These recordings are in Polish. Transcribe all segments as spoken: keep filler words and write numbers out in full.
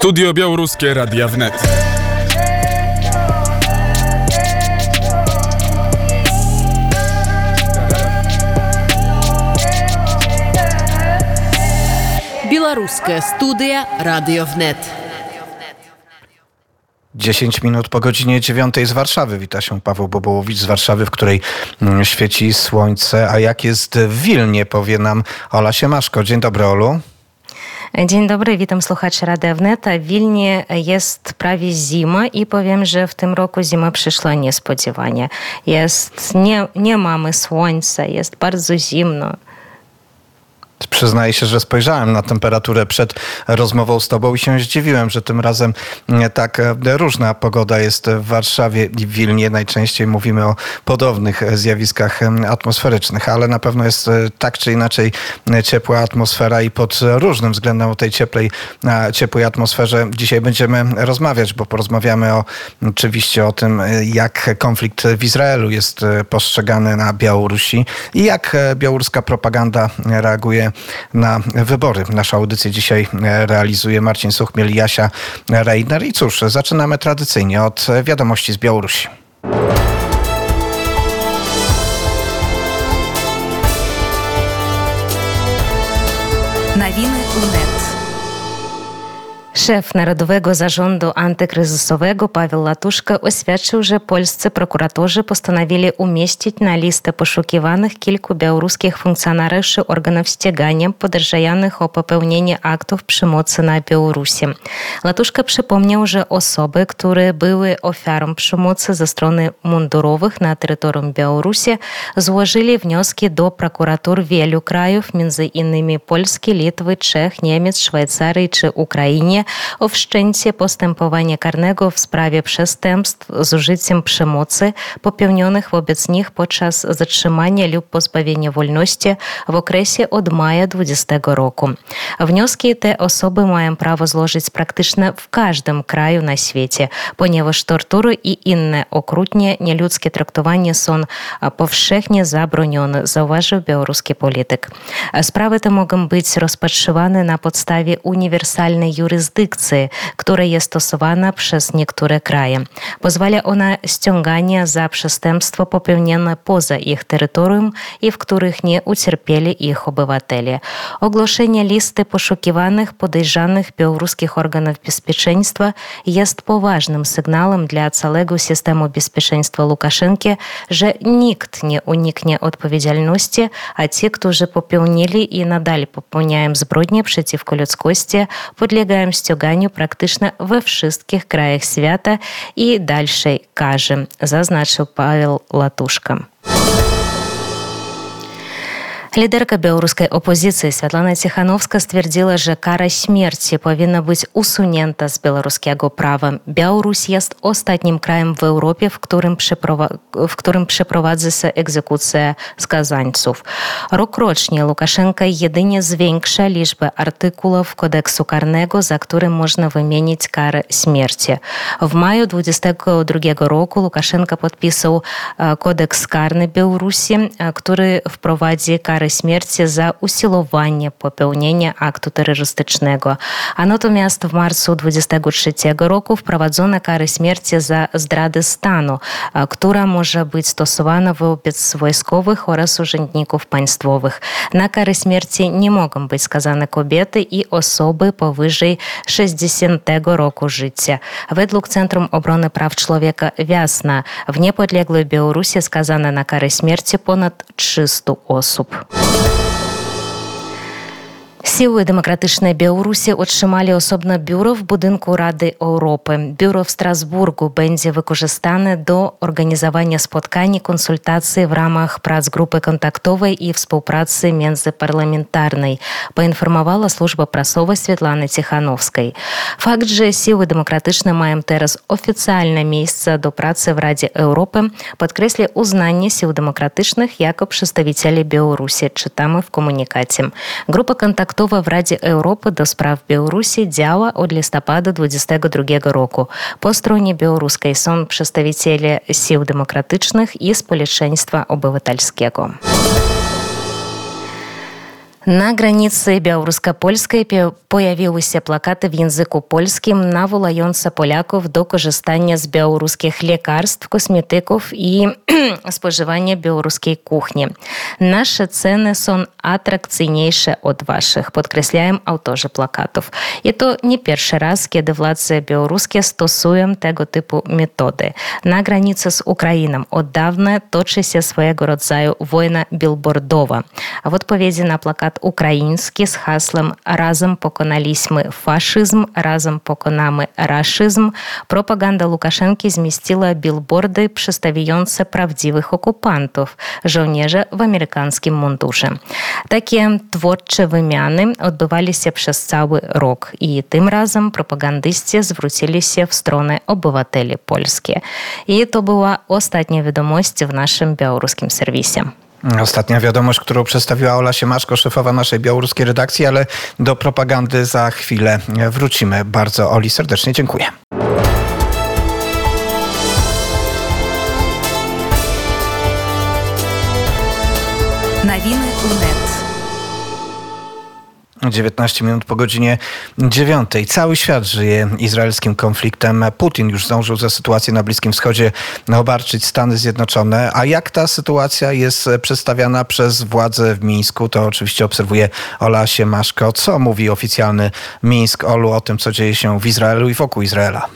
Studio Białoruskie Radia Wnet. Белорусская студия Radio Wnet. dziesięć minut po godzinie dziewiątej z Warszawy. Wita się Paweł Bobołowicz z Warszawy, w której świeci słońce. A jak jest w Wilnie, powie nam Ola Siemaszko. Dzień dobry, Olu. Dzień dobry, witam słuchaczy Radia Wnet. W Wilnie jest prawie zima i powiem, że w tym roku zima przyszła niespodziewanie. Jest, nie, nie mamy słońca, jest bardzo zimno. Przyznaję się, że spojrzałem na temperaturę przed rozmową z tobą i się zdziwiłem, że tym razem tak różna pogoda jest w Warszawie i w Wilnie. Najczęściej mówimy o podobnych zjawiskach atmosferycznych, ale na pewno jest tak czy inaczej ciepła atmosfera i pod różnym względem o tej cieplej, ciepłej atmosferze dzisiaj będziemy rozmawiać, bo porozmawiamy o, oczywiście o tym, jak konflikt w Izraelu jest postrzegany na Białorusi i jak białoruska propaganda reaguje na wybory. Naszą audycję dzisiaj realizuje Marcin Suchmiel i Jasia Reiner. I cóż, zaczynamy tradycyjnie od wiadomości z Białorusi. Nowiny U N E T. Szef Narodowego Zarządu Antykryzysowego Paweł Latuszka oświadczył, że polscy prokuratorzy postanowili umieścić na listę poszukiwanych kilku białoruskich funkcjonariuszy organów ścigania podejrzanych o popełnienie aktów przemocy na Białorusi. Latuszka przypomniał, że osoby, które były ofiarą przemocy ze strony mundurowych na terytorium Białorusi, złożyli wnioski do prokuratur wielu krajów, między innymi Polski, Litwy, Czech, Niemiec, Szwajcarii czy Ukrainie, o wszczęcie postępowania karnego w sprawie przestępstw z użyciem przemocy popełnionych wobec nich podczas zatrzymania lub pozbawienia wolności w okresie od maja dwudziestego roku. Wnioski te osoby mają prawo złożyć praktycznie w każdym kraju na świecie, ponieważ tortury i inne okrutnie nieludzkie traktowanie są powszechnie zabronione, zauważył białoruski polityk. Sprawy te mogą być rozpatrywane na podstawie uniwersalnej jurysdykcji, która jest stosowana przez niektóre kraje. Pozwala ona ściąganie za przestępstwo popełnione poza ich terytorium i w których nie ucierpieli ich obywatele. Ogłoszenie listy poszukiwanych podejrzanych białoruskich organów bezpieczeństwa jest poważnym sygnałem dla całego systemu bezpieczeństwa Łukaszenki, że nikt nie uniknie odpowiedzialności, a ci, którzy popełnili i nadal popełniają zbrodnie przeciwko ludzkości, podlegają ściąganiu praktycznie we wszystkich krajach świata i dalszej karze, zaznaczył Paweł Latuszka. Liderka białoruskiej opozycji Światlana Cichanowska stwierdziła, że kara śmierci powinna być usunięta z białoruskiego prawa. Białoruś jest ostatnim krajem w Europie, w którym, przeprowa- w którym przeprowadza się egzekucja skazańców. Rokrocznie Łukaszenka jedynie zwiększa liczbę artykułów kodeksu karnego, za które można wymienić karę śmierci. W maju dwudziestego drugiego roku Łukaszenka podpisał kodeks karny Białorusi, który wprowadzi karę śmierci za usiłowanie popełnienia aktu terrorystycznego. A natomiast w marcu dwudziestego trzeciego roku wprowadzono karę śmierci za zdradę stanu, która może być stosowana wobec wojskowych oraz urzędników państwowych. Na karę śmierci nie mogą być skazane kobiety i osoby powyżej sześćdziesiątego roku życia. Według Centrum Obrony Praw Człowieka Wiasna w niepodległej Białorusi skazano na karę śmierci ponad trzysta osób. Siły Demokratyczne Białorusi otrzymali osobne biuro w budynku Rady Europy. Biuro w Strasburgu będzie wykorzystane do organizowania spotkań i konsultacji w ramach prac grupy kontaktowej i współpracy międzyparlamentarnej, poinformowała służba prasowa Światlany Cichanowskiej. Fakt, że Siły Demokratyczne mają teraz oficjalne miejsce do pracy w Radzie Europy, podkreśla uznanie Sił Demokratycznych jako przedstawicieli Białorusi, czytamy w komunikacie. Grupa kontaktowa w Radzie Europy do spraw Białorusi działa od listopada dwudziestego drugiego roku. Po stronie białoruskiej są przedstawiciele Sił Demokratycznych i Społeczeństwa Obywatelskiego. На границы белорусско-польской появилися плакаты в языку польским, наволające Polaków do korzystania z białoruskich lekarstw, kosmetyków i spożywania białoruskiej kuchni. Nasze ceny są atrakcyjniejsze od waszych, podkreślają autorzy plakatów. I to nie pierwszy raz, kiedy władze białoruskie stosują tego typu metody. Na granicy z Ukrainą od dawna toczy się swojego rodzaju wojna billboardowa. A w odpowiedzi na plakat ukraiński z hasłem "Razem pokonaliśmy faszyzm, razem pokonamy raszyzm", propaganda Łukaszenki zmieściła billboardy przedstawiające prawdziwych okupantów, żołnierzy w amerykańskim mundurze. Takie twórcze wymiany odbywali się przez cały rok i tym razem propagandyści zwrócili się w stronę obywateli polskich. I to była ostatnia wiadomość w naszym białoruskim serwisie. Ostatnia wiadomość, którą przedstawiła Ola Siemaszko, szefowa naszej białoruskiej redakcji, ale do propagandy za chwilę wrócimy. Bardzo Oli serdecznie dziękuję. Nowiny wnet. dziewiętnaście minut po godzinie dziewiątej. Cały świat żyje izraelskim konfliktem. Putin już zdążył za sytuację na Bliskim Wschodzie obarczyć Stany Zjednoczone. A jak ta sytuacja jest przedstawiana przez władze w Mińsku, to oczywiście obserwuje Ola Siemaszko. Co mówi oficjalny Mińsk, Olu, o tym, co dzieje się w Izraelu i wokół Izraela?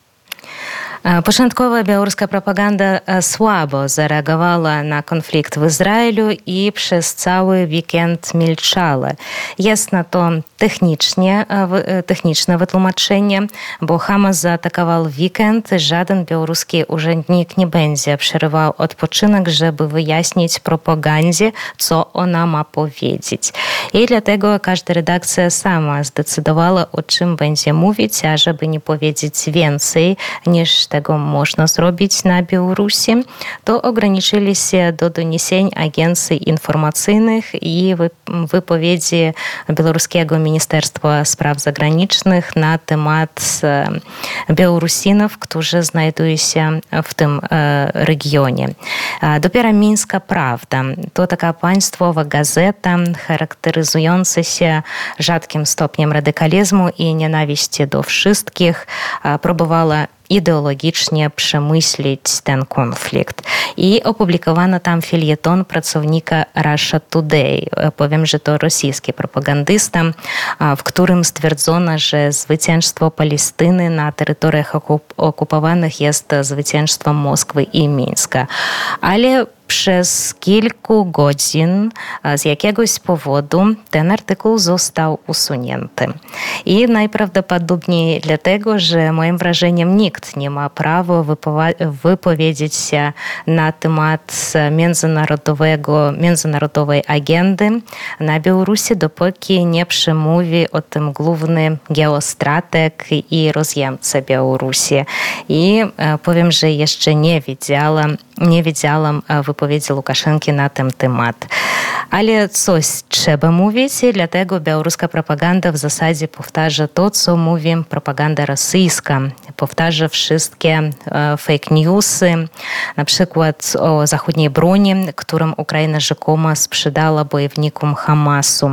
Początkowa białoruska propaganda słabo zareagowała na konflikt w Izraelu i przez cały weekend milczała. Jest na to technicznie, techniczne wytłumaczenie, bo Hamas zaatakował weekend. Żaden białoruski urzędnik nie będzie przerywał odpoczynek, żeby wyjaśnić propagandzie, co ona ma powiedzieć. I dlatego każda redakcja sama zdecydowała, o czym będzie mówić, a żeby nie powiedzieć więcej niż tego można zrobić na Białorusi, to ograniczyli się do doniesień agencji informacyjnych i wypowiedzi Białoruskiego Ministerstwa Spraw Zagranicznych na temat Białorusinów, którzy znajdują się w tym regionie. Dopiero Mińska Prawda to taka państwowa gazeta charakteryzująca się rzadkim stopniem radykalizmu i nienawiści do wszystkich, próbowała ideologicznie przemyśleć ten konflikt. I opublikowano tam felieton pracownika Russia Today. Powiem, że to rosyjski propagandysta, w którym stwierdzono, że zwycięstwo Palestyny na terytoriach okupowanych jest zwycięstwem Moskwy i Mińska. Ale przez kilku godzin z jakiegoś powodu ten artykuł został usunięty. I najprawdopodobniej dlatego, że moim wrażeniem nikt nie ma prawa wypowiedzieć się na temat międzynarodowego, międzynarodowej agendy na Białorusi, dopóki nie przemówi o tym główny geostrateg i rozjemca Białorusi. I powiem, że jeszcze nie widziałam, nie widziałam wypowiedzi Łukaszenki na ten temat. Ale coś trzeba mówić i dlatego białoruska propaganda w zasadzie powtarza to, co mówi propaganda rosyjska. Powtarza wszystkie e, fake newsy, na przykład o zachodniej broni, którą Ukraina rzekomo sprzedała bojownikom Hamasu.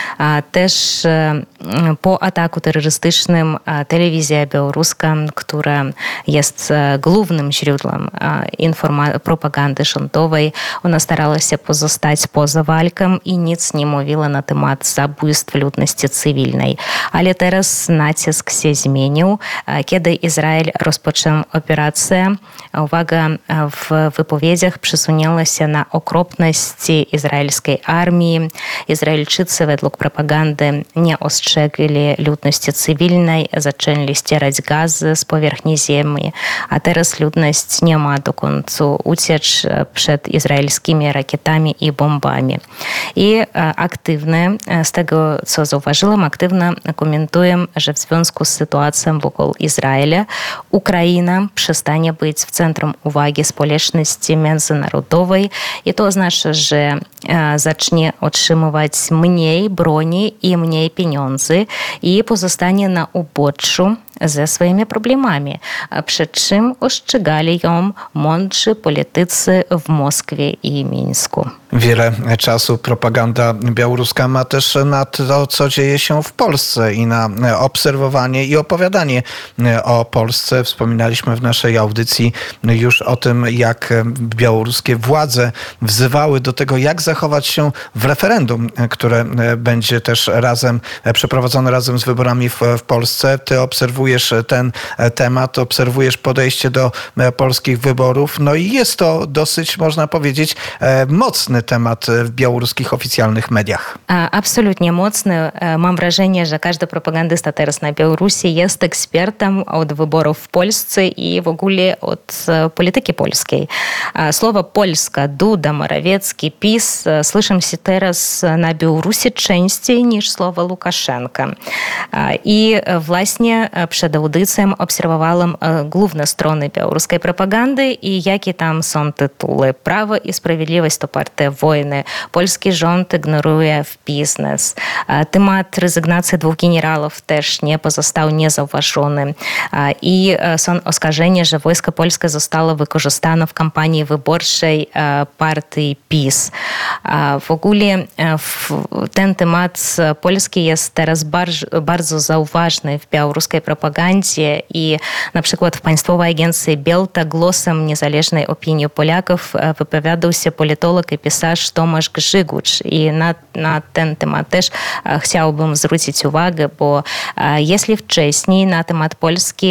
A też e, po ataku terrorystycznym e, telewizja białoruska, która jest e, głównym źródłem e, informa- propagandy rządowej, ona starała się pozostać poza walką i nic nie mówiła na temat zabójstw ludności cywilnej. Ale teraz nacisk się zmienił. Kiedy Izrael rozpoczął operację, uwaga, w wypowiedziach przesunęła się na okropności izraelskiej armii. Izraelczycy według propagandy nie ostrzegli ludności cywilnej, zaczęli ścierać gazy z powierzchni ziemi, a teraz ludność nie ma dokąd uciec przed izraelskimi rakietami i bombami. I aktywne, z tego co zauważyłam, aktywnie komentuję, że w związku z sytuacją wokół Izraela Ukraina przestanie być w centrum uwagi społeczności międzynarodowej i to oznacza, że zacznie otrzymywać mniej broni i mniej pieniędzy i pozostanie na uboczu ze swoimi problemami, przed czym ostrzegali ją mądrzy politycy w Moskwie i Mińsku. Wiele czasu propaganda białoruska ma też na to, co dzieje się w Polsce i na obserwowanie i opowiadanie o Polsce. Wspominaliśmy w naszej audycji już o tym, jak białoruskie władze wzywały do tego, jak zachować się w referendum, które będzie też razem przeprowadzone razem z wyborami w, w Polsce. Ty obserwujesz ten temat, obserwujesz podejście do polskich wyborów. No i jest to dosyć, można powiedzieć, mocny temat w białoruskich oficjalnych mediach. Absolutnie mocny. Mam wrażenie, że każdy propagandysta teraz na Białorusi jest ekspertem od wyborów w Polsce i w ogóle od polityki polskiej. Słowo Polska, Duda, Morawiecki, PiS słyszę się teraz na Białorusi częściej niż słowo Łukaszenka. I właśnie przed audycją obserwowałam główne strony białoruskiej propagandy i jakie tam są tytuły. Prawo i Sprawiedliwość to partia wojny. Polski rząd ignoruje biznes. Temat rezygnacji dwóch generałów też nie pozostał niezauważony. I są oskarżenia, że wojsko polskie zostało wykorzystane w kampanii wyborczej partii PiS. W ogóle ten temat polski jest teraz bardzo, bardzo zauważny w białoruskiej propagandzie i na przykład w Państwowej Agencji Belta głosem niezależnej opinii Polaków wypowiadał się politolog i pisarz Tomasz Grzygucz. I na, na ten temat też chciałbym zwrócić uwagę, bo jeśli wcześniej na temat Polski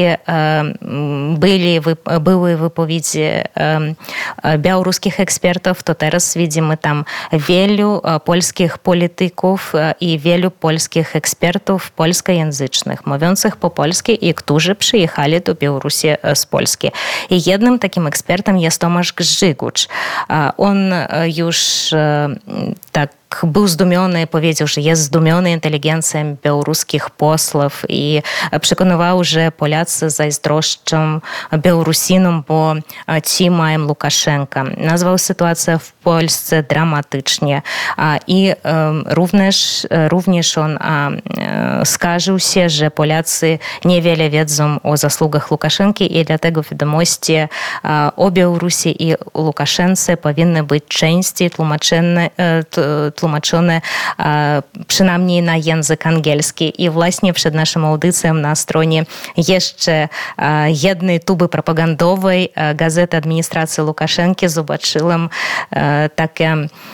byli, były wypowiedzi białoruskich ekspertów, to teraz widzimy tam wielu polskich polityków i wielu polskich ekspertów polskojęzycznych, mówiących po polsku i którzy przyjechali do Białorusi z Polski. I jednym takim ekspertem jest Tomasz Grzygucz. On już tak był zdumiony, powiedział, że jest zdumiony inteligencją białoruskich posłów i przekonywał, że Polacy zazdroszczą Białorusinom, bo ci mają Łukaszenkę. Nazwał sytuację w Polsce dramatycznie i również, również on skarżył się, że Polacy niewiele wiedzą o zasługach Łukaszenki i dlatego wiadomości o Białorusi i Łukaszence powinny być częściej tłumaczone tłumaczone przynajmniej na język angielski. I właśnie przed naszą audycją na stronie jeszcze jednej tuby propagandowej Gazety Administracji Łukaszenki zobaczyłam takie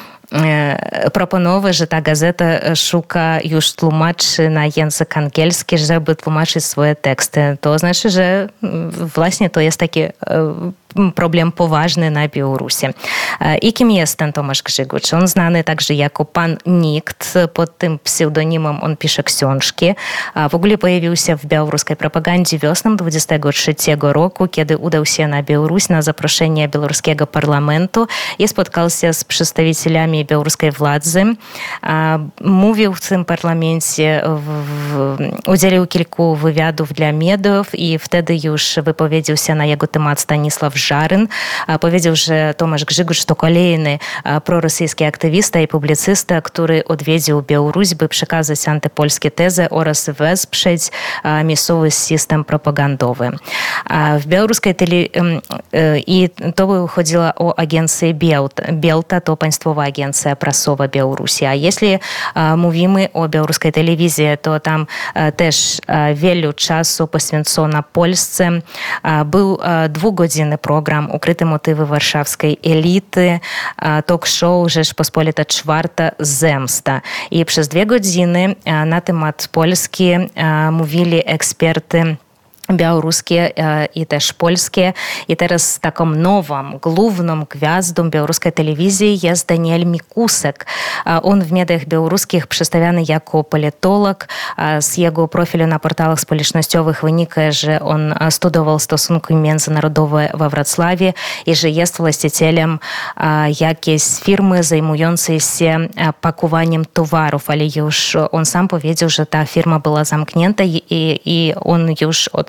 proponowy, że ta gazeta szuka już tłumaczy na język angielski, żeby tłumaczyć swoje teksty. To znaczy, że właśnie to jest taki problem poważny na Białorusi. I kim jest ten Tomasz Grzygucz? On znany także jako Pan Nikt. Pod tym pseudonimem on pisze książki. W ogóle pojawił się w białoruskiej propagandzie wiosną dwudziestego trzeciego roku, kiedy udał się na Białoruś na zaproszenie białoruskiego parlamentu i spotkał się z przedstawicielami białoruskiej władzy. Mówił w tym parlamencie, udzielił kilku wywiadów dla mediów i wtedy już wypowiedział się na jego temat Stanisław Żaryn. Powiedział, że Tomasz Grzygucz to kolejny prorosyjski aktywista i publicysta, który odwiedził Białoruś, by przekazać antypolskie tezy oraz wesprzeć miejscowy system propagandowy. W białoruskiej tele... I to chodziło o agencję Belta, to Państwowa Agencja Prasowa Białorusi. A jeśli mówimy o białoruskiej telewizji, to tam też wiele czasu poświęcono Polsce. Był dwugodzinny program Ukryte motywy warszawskiej elity, talk show Rzeczpospolita Czwarta Zemsta. I przez dwie godziny na temat Polski mówili eksperty białoruskie i też polskie. I teraz taką nową, główną gwiazdą białoruskiej telewizji jest Daniel Mikusek. On w mediach białoruskich przedstawiany jako politolog. Z jego profilu na portalach społecznościowych wynika, że on studiował stosunki międzynarodowe we Wrocławiu i że jest właścicielem jakiejś firmy zajmującej się pakowaniem towarów, ale już on sam powiedział, że ta firma była zamknięta i, i on już od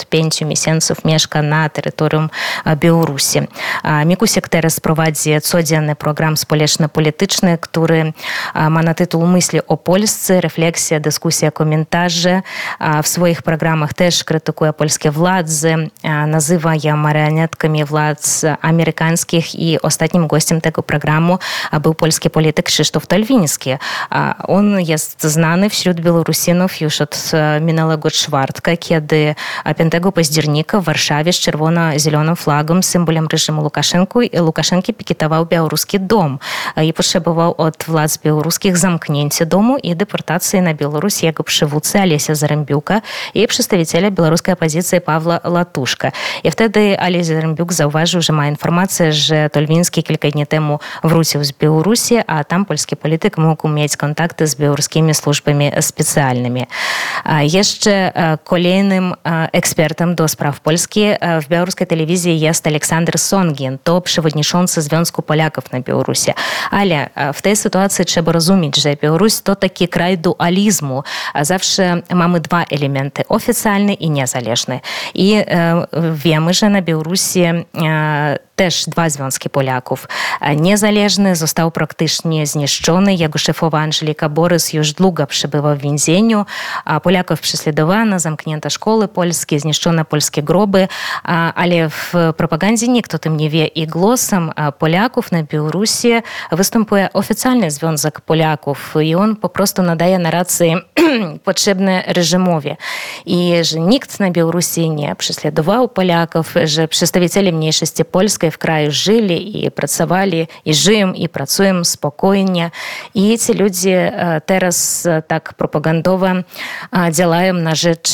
od pięciu miesięcy mieszka na terytorium Białorusi. Mikusek teraz prowadzi codzienny program społeczno-polityczny, który ma na tytuł Myśli o Polsce, refleksja, dyskusja, komentarze. W swoich programach też krytykuje polskie władze, nazywa je marionetkami władz amerykańskich i ostatnim gościem tego programu był polski polityk Krzysztof Talwiński. On jest znany wśród Białorusinów już od minionego czwartka, kiedy piątego października w Warszawie z czerwono-zieloną flagą, symbolem reżimu Łukaszenki, Łukaszenki piketował białoruski dom i potrzebował od władz białoruskich zamknięcia domu i deportacji na Białoruś jego przywódcy Alesia Zarembiuka i przedstawiciela białoruskiej opozycji Pawła Latuszka. I wtedy Ales Zarembiuk zauważył, że ma informację, że Talwiński kilka dni temu wrócił z Białorusi, a tam polski polityk mógł mieć kontakty z białoruskimi służbami specjalnymi. Jeszcze kolejnym ekspertem do spraw Polski w białoruskiej telewizji jest Aleksander Songin, to przewodniczący Związku Polaków na Białorusi. Ale w tej sytuacji trzeba rozumieć, że Białoruś to taki kraj dualizmu. Zawsze mamy dwa elementy, oficjalny i niezależny. I wiemy, że na Białorusi też dwa związki Polaków. Niezależny został praktycznie zniszczony. Jego szefowa Angelika Borys już długo przebywa w więzieniu. Polaków prześladowano, zamknięto szkoły polskie, zniszczono polskie groby, ale w propagandzie nikt o tym nie wie. I głosem Polaków na Białorusi występuje oficjalny Związek Polaków i on po prostu nadaje narracje potrzebne reżimowi. I że nikt na Białorusi nie prześladował Polaków, że przedstawiciele mniejszości polskiej w kraju żyli i pracowali, i żyją, i pracują spokojnie. I ci ludzie teraz tak propagandowo działają na rzecz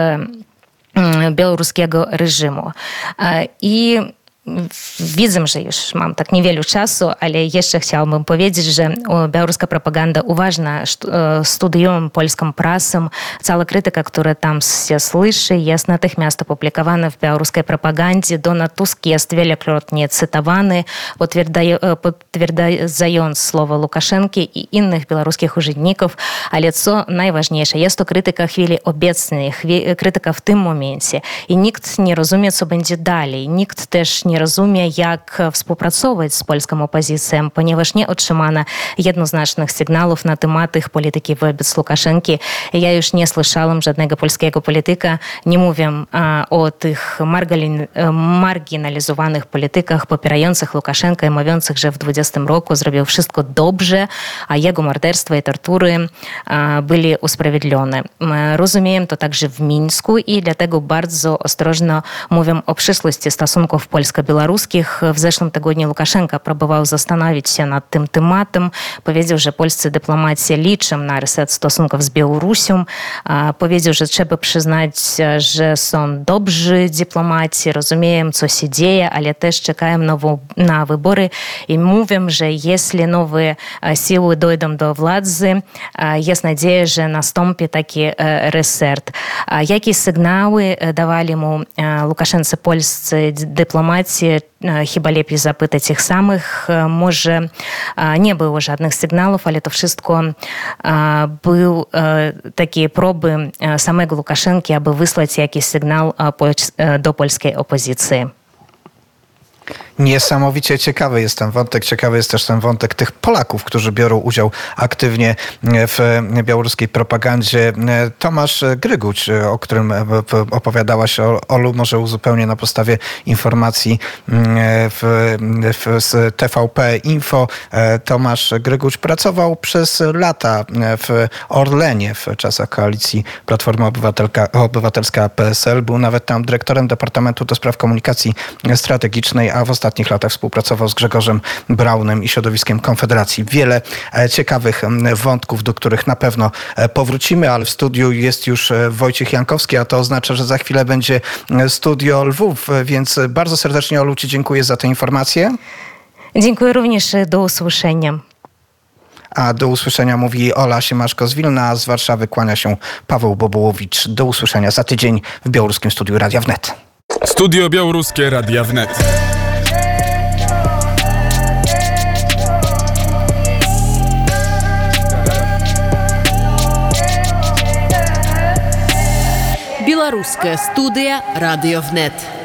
białoruskiego reżimu. I widzę, że już mam tak niewiele czasu, ale jeszcze chciałabym powiedzieć, że białoruska propaganda uważna studiują polską prasę. Cała krytyka, która tam się słyszy, jest natychmiast opublikowana w białoruskiej propagandzie. Donald Tusk jest wielokrotnie cytowany, potwierdzając słowa Łukaszenki i innych białoruskich urzędników. Ale co najważniejsze, jest to krytyka chwili obecnej, krytyka w tym momencie. I nikt nie rozumie, co będzie dalej. Nikt też nie rozumie, jak współpracować z polską opozycją, ponieważ nie otrzymano jednoznacznych sygnałów na temat ich polityki wobec Łukaszenki. Ja już nie słyszałam żadnego polskiego polityka, nie mówię o tych marginalizowanych politykach popierających Łukaszenkę i mówiących, że w dwudziestym roku zrobił wszystko dobrze, a jego morderstwa i tortury byli usprawiedliwione. Rozumiem to także w Mińsku i dlatego bardzo ostrożnie mówię o przyszłości stosunków polsko-białoruskich. W zeszłym tygodniu Łukaszenka próbował zastanowić się nad tym tematem. Powiedział, że polscy dyplomaci liczą na reset stosunków z Białorusią. Powiedział, że trzeba przyznać, że są dobrzy dyplomaci, rozumieją, co się dzieje, ale też czekają na wybory i mówią, że jeśli nowe siły dojdą do władzy, jest nadzieja, że nastąpi taki reset. Jakie sygnały dawali mu Łukaszence polscy dyplomaci? Chyba lepiej zapytać ich samych. Może nie było żadnych sygnałów, ale to wszystko były takie próby samego Łukaszenki, aby wysłać jakiś sygnał do polskiej opozycji. Niesamowicie ciekawy jest ten wątek. Ciekawy jest też ten wątek tych Polaków, którzy biorą udział aktywnie w białoruskiej propagandzie. Tomasz Gryguć, o którym opowiadałaś, Olu, może uzupełnię na podstawie informacji w, w, z T V P Info. Tomasz Gryguć pracował przez lata w Orlenie w czasach koalicji Platforma Obywatelka, Obywatelska P S L. Był nawet tam dyrektorem Departamentu do Spraw Komunikacji Strategicznej, a w ostatnich latach współpracował z Grzegorzem Braunem i środowiskiem Konfederacji. Wiele ciekawych wątków, do których na pewno powrócimy, ale w studiu jest już Wojciech Jankowski, a to oznacza, że za chwilę będzie Studio Lwów, więc bardzo serdecznie, Olu, ci dziękuję za tę informację. Dziękuję również, do usłyszenia. A do usłyszenia mówi Ola Siemaszko z Wilna, a z Warszawy kłania się Paweł Bobołowicz. Do usłyszenia za tydzień w białoruskim studiu Radia Wnet. Studio Białoruskie Radia Wnet. Беларуская студыя радыёвнет.